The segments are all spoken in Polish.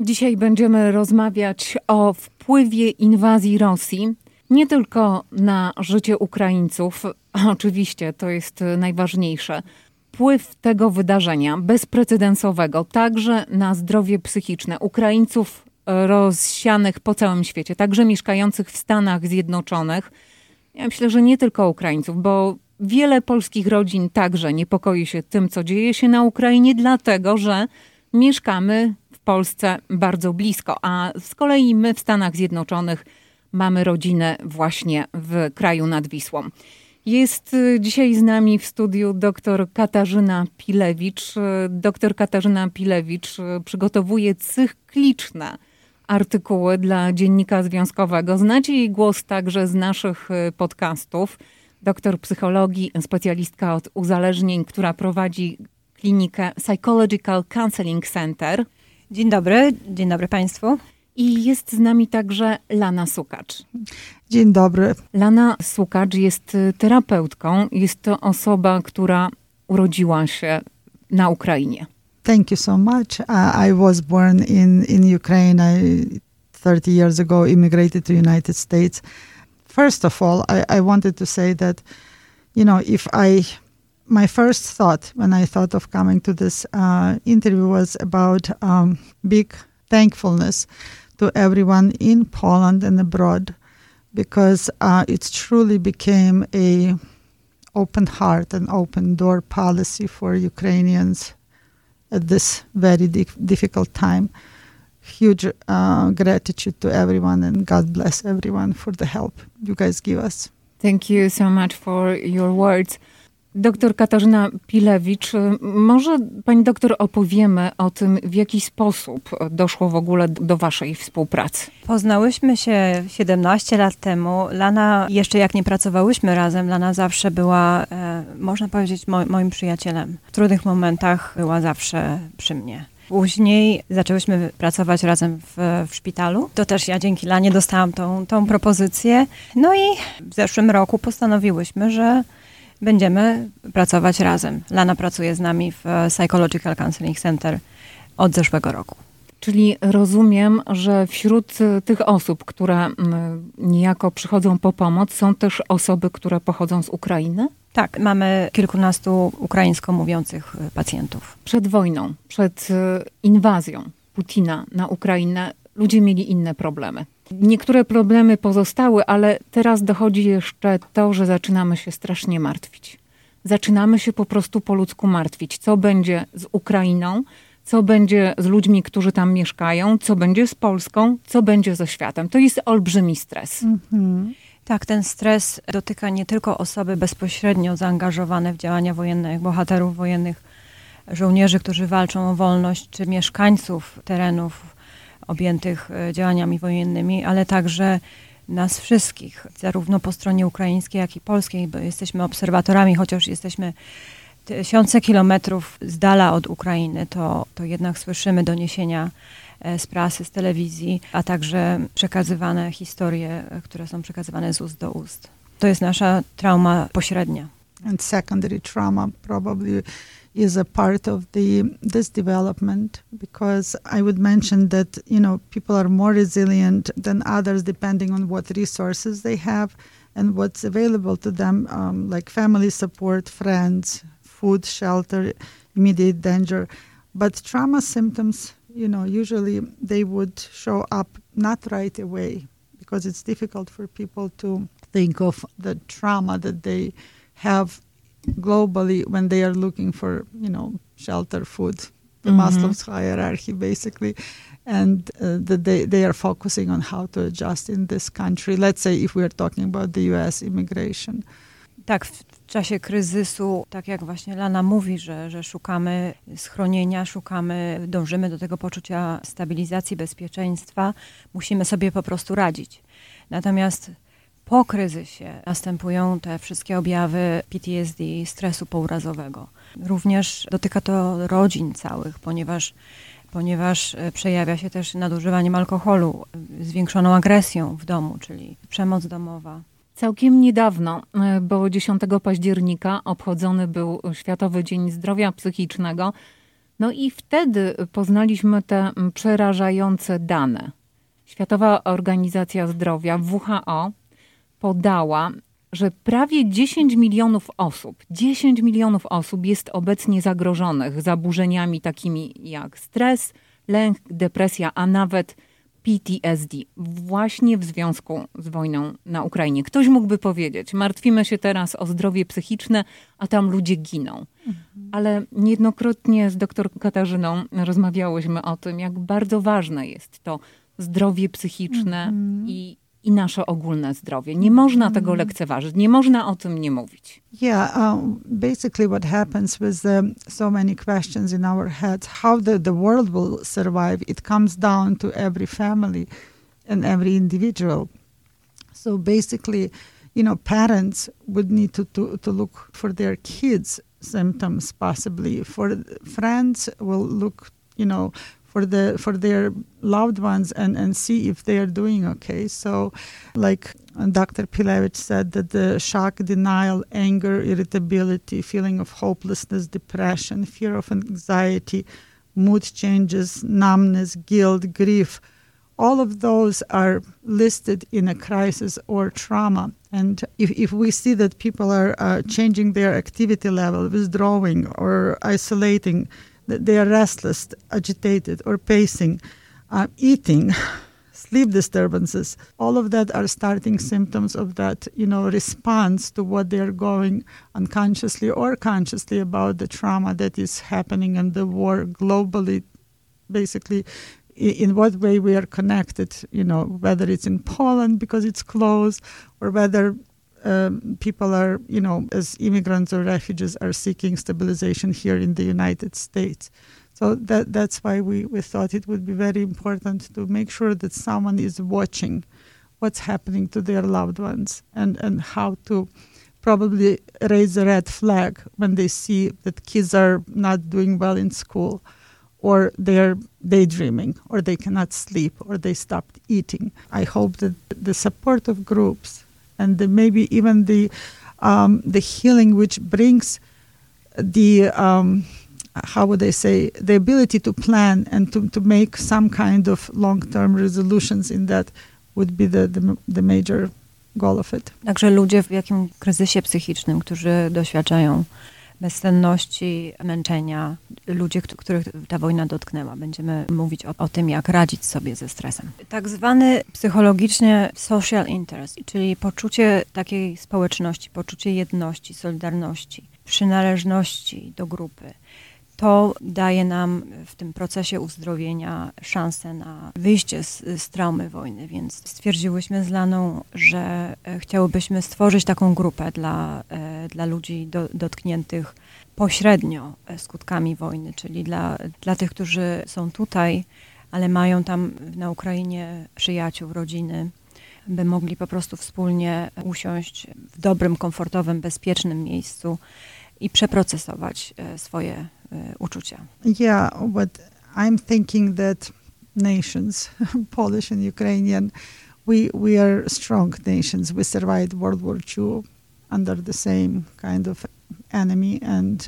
Dzisiaj będziemy rozmawiać o wpływie inwazji Rosji nie tylko na życie Ukraińców, oczywiście to jest najważniejsze, wpływ tego wydarzenia bezprecedensowego także na zdrowie psychiczne Ukraińców rozsianych po całym świecie, także mieszkających w Stanach Zjednoczonych. Ja myślę, że nie tylko Ukraińców, bo wiele polskich rodzin także niepokoi się tym, co dzieje się na Ukrainie, dlatego że mieszkamy w Polsce bardzo blisko, a z kolei my w Stanach Zjednoczonych mamy rodzinę właśnie w kraju nad Wisłą. Jest dzisiaj z nami w studiu dr Katarzyna Pilewicz. Dr Katarzyna Pilewicz przygotowuje cykliczne artykuły dla Dziennika Związkowego. Znacie jej głos także z naszych podcastów. Doktor psychologii, specjalistka od uzależnień, która prowadzi klinikę Psychological Counseling Center. Dzień dobry Państwu. I jest z nami także Lana Sukacz. Dzień dobry. Lana Sukacz jest terapeutką. Jest to osoba, która urodziła się na Ukrainie. Thank you so much. I was born in Ukraine. I 30 years ago immigrated to United States. First of all, I wanted to say that, my first thought when I thought of coming to this interview was about big thankfulness to everyone in Poland and abroad, because it truly became a open heart and open door policy for Ukrainians at this very difficult time. Huge gratitude to everyone, and God bless everyone for the help you guys give us. Thank you so much for your words. Doktor Katarzyna Pilewicz, może pani doktor opowiemy o tym, w jaki sposób doszło w ogóle do waszej współpracy? Poznałyśmy się 17 lat temu. Lana, jeszcze jak nie pracowałyśmy razem, Lana zawsze była, można powiedzieć, moim przyjacielem. W trudnych momentach była zawsze przy mnie. Później zaczęłyśmy pracować razem w szpitalu. To też ja dzięki Lanie dostałam tą propozycję. No i w zeszłym roku postanowiłyśmy, że będziemy pracować razem. Lana pracuje z nami w Psychological Counseling Center od zeszłego roku. Czyli rozumiem, że wśród tych osób, które niejako przychodzą po pomoc, są też osoby, które pochodzą z Ukrainy? Tak, mamy kilkunastu ukraińsko mówiących pacjentów. Przed wojną, przed inwazją Putina na Ukrainę ludzie mieli inne problemy. Niektóre problemy pozostały, ale teraz dochodzi jeszcze to, że zaczynamy się strasznie martwić. Zaczynamy się po prostu po ludzku martwić. Co będzie z Ukrainą? Co będzie z ludźmi, którzy tam mieszkają? Co będzie z Polską? Co będzie ze światem? To jest olbrzymi stres. Mm-hmm. Tak, ten stres dotyka nie tylko osoby bezpośrednio zaangażowane w działania wojenne, jak bohaterów wojennych, żołnierzy, którzy walczą o wolność, czy mieszkańców terenów objętych działaniami wojennymi, ale także nas wszystkich, zarówno po stronie ukraińskiej, jak i polskiej, bo jesteśmy obserwatorami, chociaż jesteśmy tysiące kilometrów z dala od Ukrainy, to jednak słyszymy doniesienia z prasy, z telewizji, a także przekazywane historie, które są przekazywane z ust do ust. To jest nasza trauma pośrednia. And secondary trauma probably is a part of this development, because I would mention that, people are more resilient than others depending on what resources they have and what's available to them, like family support, friends, food, shelter, immediate danger. But trauma symptoms, usually they would show up not right away, because it's difficult for people to think of the trauma that they have globally when they are looking for, shelter, food, the Maslow's hierarchy basically, and that they are focusing on how to adjust in this country. Let's say if we are talking about the US immigration. Tak, w czasie kryzysu, tak jak właśnie Lana mówi, że szukamy schronienia, dążymy do tego poczucia stabilizacji, bezpieczeństwa, musimy sobie po prostu radzić. Natomiast po kryzysie następują te wszystkie objawy PTSD, stresu pourazowego. Również dotyka to rodzin całych, ponieważ przejawia się też nadużywaniem alkoholu, zwiększoną agresją w domu, czyli przemoc domowa. Całkiem niedawno, bo 10 października obchodzony był Światowy Dzień Zdrowia Psychicznego. No i wtedy poznaliśmy te przerażające dane. Światowa Organizacja Zdrowia, WHO, podała, że prawie 10 milionów osób jest obecnie zagrożonych zaburzeniami takimi jak stres, lęk, depresja, a nawet PTSD, właśnie w związku z wojną na Ukrainie. Ktoś mógłby powiedzieć, martwimy się teraz o zdrowie psychiczne, a tam ludzie giną. Ale niejednokrotnie z dr Katarzyną rozmawiałyśmy o tym, jak bardzo ważne jest to zdrowie psychiczne i nasze ogólne zdrowie. Nie można tego lekceważyć, nie można o tym nie mówić. Yeah, basically what happens with so many questions in our heads, how the world will survive, it comes down to every family and every individual. So basically, parents would need to look for their kids' symptoms possibly. For friends will look, for their loved ones and see if they are doing okay. So like Dr. Pilevich said, that the shock, denial, anger, irritability, feeling of hopelessness, depression, fear of anxiety, mood changes, numbness, guilt, grief, all of those are listed in a crisis or trauma. And if we see that people are changing their activity level, withdrawing or isolating, that they are restless, agitated, or pacing, eating, sleep disturbances, all of that are starting symptoms of that, response to what they are going unconsciously or consciously about the trauma that is happening and the war globally, basically, in what way we are connected, whether it's in Poland because it's close, or whether people are, as immigrants or refugees are seeking stabilization here in the United States. So that's why we thought it would be very important to make sure that someone is watching what's happening to their loved ones and how to probably raise a red flag when they see that kids are not doing well in school, or they're daydreaming, or they cannot sleep, or they stopped eating. I hope that the support of groups and maybe even the healing which brings the how would I say, the ability to plan and to make some kind of long-term resolutions in that would be the major goal of it. Także ludzie w jakim kryzysie psychicznym, którzy doświadczają bezsenności, męczenia, ludzie, których ta wojna dotknęła. Będziemy mówić o tym, jak radzić sobie ze stresem. Tak zwany psychologicznie social interest, czyli poczucie takiej społeczności, poczucie jedności, solidarności, przynależności do grupy. To daje nam w tym procesie uzdrowienia szansę na wyjście z traumy wojny, więc stwierdziłyśmy z Laną, że chciałybyśmy stworzyć taką grupę dla ludzi dotkniętych pośrednio skutkami wojny, czyli dla tych, którzy są tutaj, ale mają tam na Ukrainie przyjaciół, rodziny, by mogli po prostu wspólnie usiąść w dobrym, komfortowym, bezpiecznym miejscu i przeprocesować swoje uczucia. Yeah, but I'm thinking that nations, Polish and Ukrainian, we are strong nations. We survived World War II under the same kind of enemy, and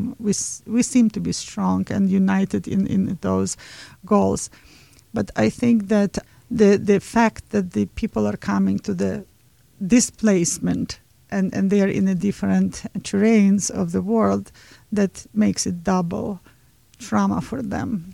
we seem to be strong and united in those goals. But I think that the fact that the people are coming to the displacement and they are in a different terrains of the world, that makes it double trauma for them.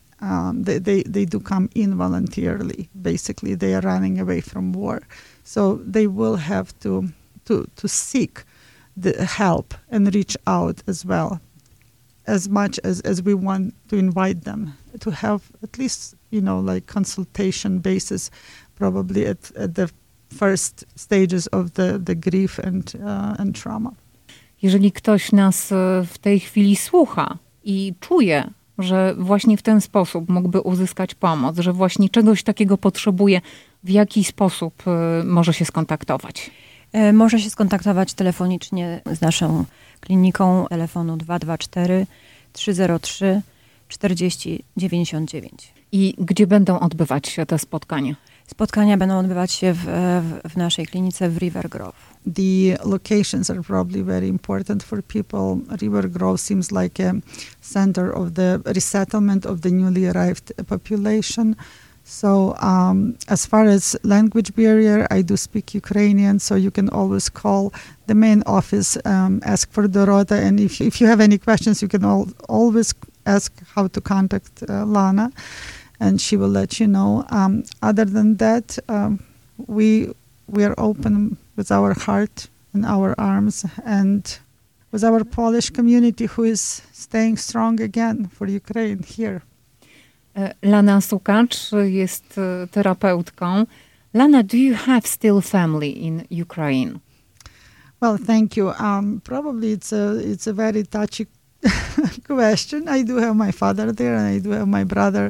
They do come involuntarily. Basically, they are running away from war. So they will have to seek the help and reach out as well, as much as we want to invite them to have at least, like consultation basis, probably at the first stages of the grief and trauma. Jeżeli ktoś nas w tej chwili słucha i czuje, że właśnie w ten sposób mógłby uzyskać pomoc, że właśnie czegoś takiego potrzebuje, w jaki sposób może się skontaktować? Może się skontaktować telefonicznie z naszą kliniką telefonu 224 303 40 99. I gdzie będą odbywać się te spotkania? Spotkania będą odbywać się w naszej klinice w River Grove. the locations are probably very important for people. River Grove seems like a center of the resettlement of the newly arrived population. So as far as language barrier, I do speak Ukrainian, so you can always call the main office, ask for Dorota, and if you have any questions, you can always ask how to contact Lana, and she will let you know. Other than that, we are open with our heart and our arms, and with our Polish community who is staying strong again for Ukraine here. Lana Sukacz jest terapeutką. Lana, do you have still family in Ukraine? Well, thank you. Probably it's a very touchy question. I do have my father there, and I do have my brother.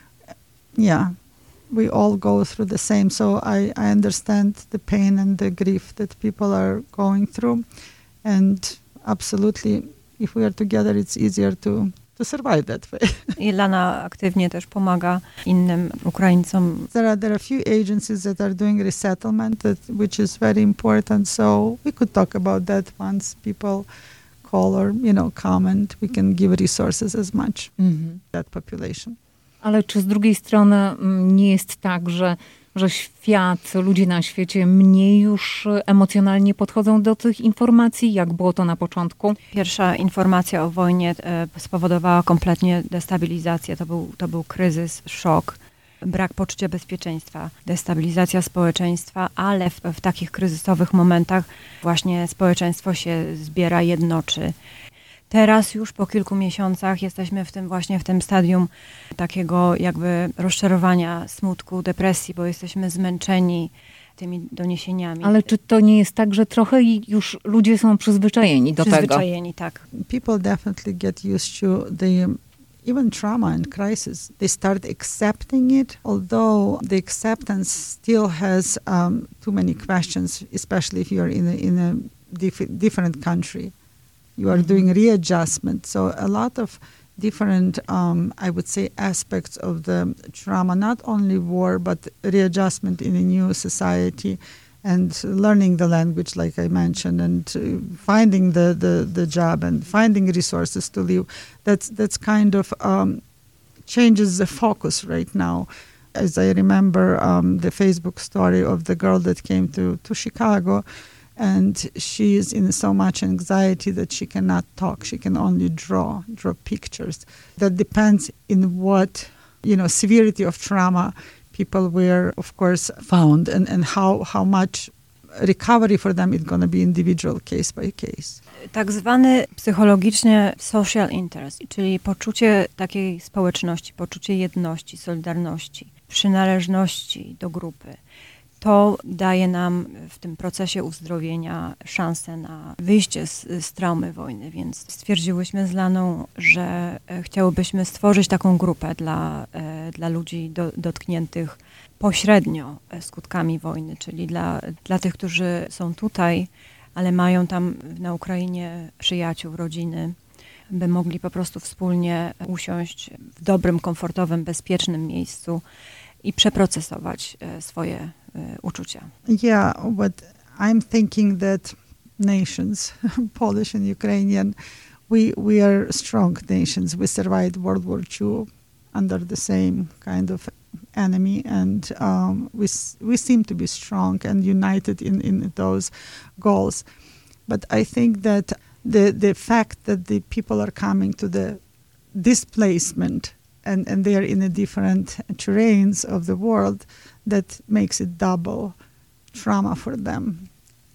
Yeah, we all go through the same. So I understand the pain and the grief that people are going through. And absolutely, if we are together, it's easier to survive that way. I Lana aktywnie też pomaga innym Ukraińcom. There are a few agencies that are doing resettlement, which is very important. So we could talk about that once people call or comment. We can give resources as much that population. Ale czy z drugiej strony nie jest tak, że świat, ludzie na świecie mniej już emocjonalnie podchodzą do tych informacji, jak było to na początku? Pierwsza informacja o wojnie spowodowała kompletnie destabilizację. To był kryzys, szok, brak poczucia bezpieczeństwa, destabilizacja społeczeństwa, ale w takich kryzysowych momentach właśnie społeczeństwo się zbiera, jednoczy. Teraz już po kilku miesiącach jesteśmy w tym stadium takiego jakby rozczarowania, smutku, depresji, bo jesteśmy zmęczeni tymi doniesieniami. Ale czy to nie jest tak, że trochę już ludzie są przyzwyczajeni do tego? Przyzwyczajeni, tak. People definitely get used to the even trauma and crisis. They start accepting it, although the acceptance still has too many questions, especially if you're in a different country. You are doing readjustment. So a lot of different, I would say, aspects of the trauma, not only war, but readjustment in a new society and learning the language, like I mentioned, and finding the job and finding resources to live. That's kind of changes the focus right now. As I remember the Facebook story of the girl that came to Chicago, and she is in so much anxiety that she cannot talk. She can only draw pictures. That depends in what, severity of trauma people were, of course, found, and how much recovery for them is going to be individual, case by case. Tak zwany psychologicznie social interest, czyli poczucie takiej społeczności, poczucie jedności, solidarności, przynależności do grupy. To daje nam w tym procesie uzdrowienia szansę na wyjście z traumy wojny, więc stwierdziłyśmy z Laną, że chciałybyśmy stworzyć taką grupę dla ludzi dotkniętych pośrednio skutkami wojny, czyli dla tych, którzy są tutaj, ale mają tam na Ukrainie przyjaciół, rodziny, by mogli po prostu wspólnie usiąść w dobrym, komfortowym, bezpiecznym miejscu i przeprocesować swoje uczucia. Yeah, but I'm thinking that nations, Polish and Ukrainian, we are strong nations. We survived World War II under the same kind of enemy, and we seem to be strong and united in those goals. But I think that the fact that the people are coming to the displacement and they are in a different terrains of the world, that makes it double trauma for them.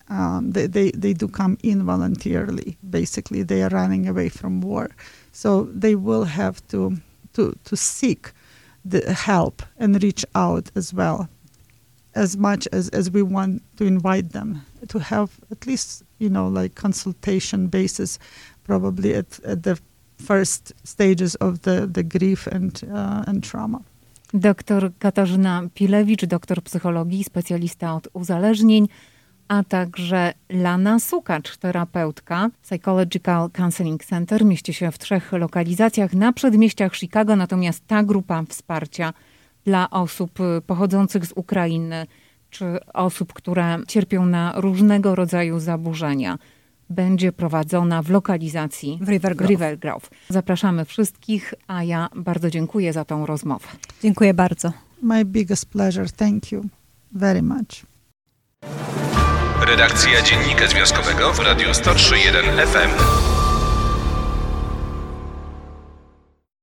They do come in voluntarily. Basically, they are running away from war. So they will have to seek the help and reach out as well, as much as we want to invite them to have at least, like consultation basis, probably at the first stages of the grief and trauma. Doktor Katarzyna Pilewicz, doktor psychologii, specjalista od uzależnień, a także Lana Sukacz, terapeutka. Psychological Counseling Center mieści się w 3 lokalizacjach na przedmieściach Chicago, natomiast ta grupa wsparcia dla osób pochodzących z Ukrainy czy osób, które cierpią na różnego rodzaju zaburzenia, będzie prowadzona w lokalizacji w River Grove. Zapraszamy wszystkich, a ja bardzo dziękuję za tą rozmowę. Dziękuję bardzo. My biggest pleasure. Thank you very much. Redakcja Dziennika Związkowego w Radiu 103.1 FM.